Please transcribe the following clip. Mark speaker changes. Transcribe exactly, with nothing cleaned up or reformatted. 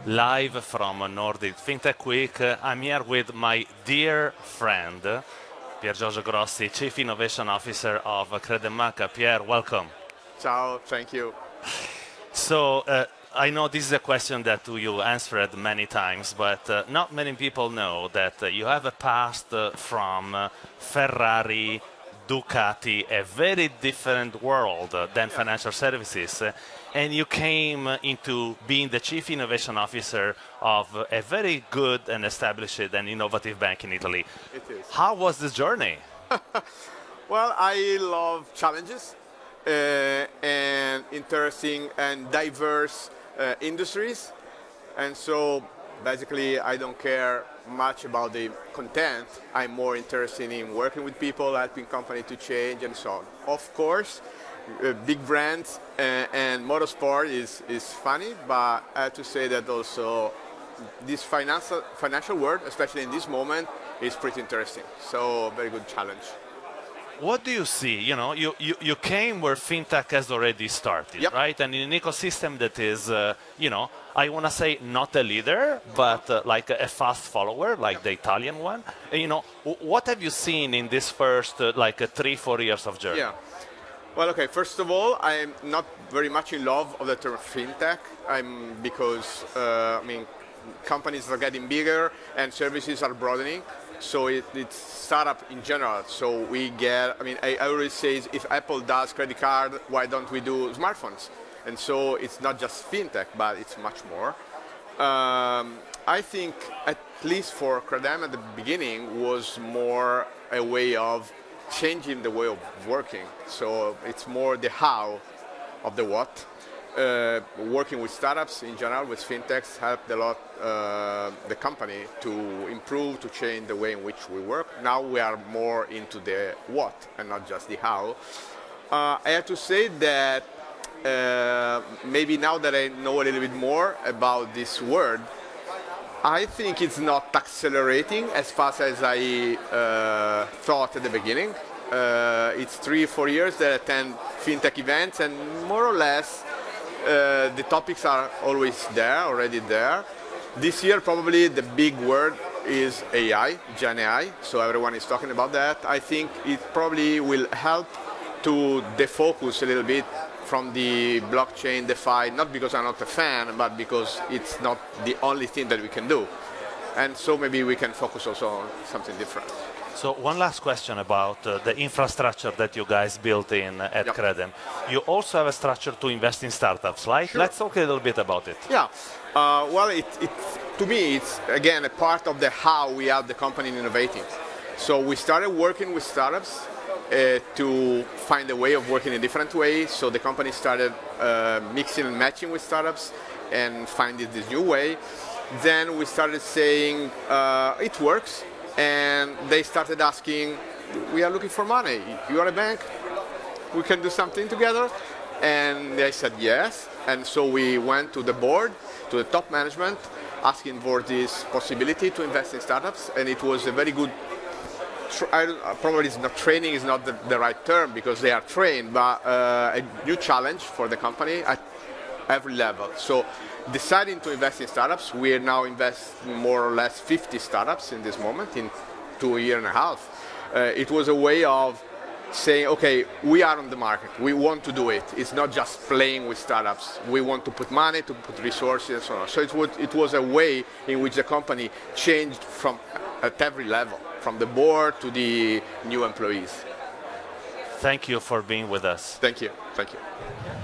Speaker 1: live from Nordic FinTech Week. Uh, I'm here with my dear friend, Pier Giorgio Grossi, Chief Innovation Officer of Credembanca. Pier, welcome.
Speaker 2: Ciao, thank you.
Speaker 1: So, uh, I know this is a question that you answered many times, but uh, not many people know that uh, you have a past uh, from uh, Ferrari, Ducati, a very different world uh, than
Speaker 2: yeah.
Speaker 1: financial services. Uh, and you came uh, into being the Chief Innovation Officer of uh, a very good and established and innovative bank in Italy.
Speaker 2: It is.
Speaker 1: How was this journey?
Speaker 2: Well, I love challenges uh, and interesting and diverse uh, industries. And so basically I don't care much about the content. I'm more interested in working with people, helping companies to change and so on. Of course, uh, big brands uh, and motorsport is, is funny, but I have to say that also this financial, financial world, especially in this moment, is pretty interesting. So very good challenge.
Speaker 1: What do you see? You know, you, you, you came where fintech has already started,
Speaker 2: yep.
Speaker 1: right? And in an ecosystem that is, uh, you know, I want to say not a leader, but uh, like a, a fast follower, like yep. the Italian one. And, you know, w- what have you seen in this first, uh, like, uh, three, four years of journey?
Speaker 2: Yeah. Well, okay. First of all, I'm not very much in love of the term fintech. I'm because uh, I mean, companies are getting bigger and services are broadening. So it, it's startup in general. So we get, I mean, I, I always say if Apple does credit card, why don't we do smartphones? And so it's not just fintech, but it's much more. Um, I think at least for Credem at the beginning was more a way of changing the way of working. So it's more the how of the what. Uh, working with startups in general, with fintechs, helped a lot uh, the company to improve, to change the way in which we work. Now we are more into the what and not just the how. Uh, I have to say that uh, maybe now that I know a little bit more about this word, I think it's not accelerating as fast as I uh, thought at the beginning. Uh, it's three, four years that I attend fintech events, and more or less Uh, the topics are always there, already there. This year probably the big word is A I, Gen A I, so everyone is talking about that. I think it probably will help to defocus a little bit from the blockchain, DeFi, not because I'm not a fan, but because it's not the only thing that we can do. And so maybe we can focus also on something different.
Speaker 1: So one last question about uh, the infrastructure that you guys built in uh, at
Speaker 2: yep.
Speaker 1: Credem. You also have a structure to invest in startups, right?
Speaker 2: Sure.
Speaker 1: Let's talk a little bit about it.
Speaker 2: Yeah. Uh, well, it, it, to me, it's, again, a part of the how we have the company innovating. So we started working with startups uh, to find a way of working in a different way. So the company started uh, mixing and matching with startups and finding this new way. Then we started saying, uh, it works. And they started asking, we are looking for money. You are a bank? We can do something together? And they said yes. And so we went to the board, to the top management, asking for this possibility to invest in startups. And it was a very good, tra- I, probably it's not training is not the, the right term because they are trained, but uh, a new challenge for the company at every level. So deciding to invest in startups, we are now investing more or less fifty startups in this moment, in two years and a half. Uh, it was a way of saying, okay, we are on the market, we want to do it. It's not just playing with startups. We want to put money, to put resources, and so on. So it was, it was a way in which the company changed from at every level, from the board to the new employees.
Speaker 1: Thank you for being with us.
Speaker 2: Thank you. Thank you.